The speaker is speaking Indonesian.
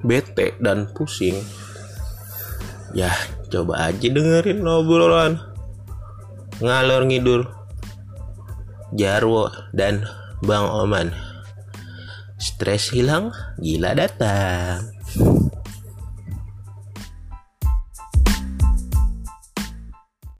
bete dan pusing, ya coba aja dengerin obrolan ngalor ngidur Jarwo dan Bang Oman. Stres hilang, gila datang.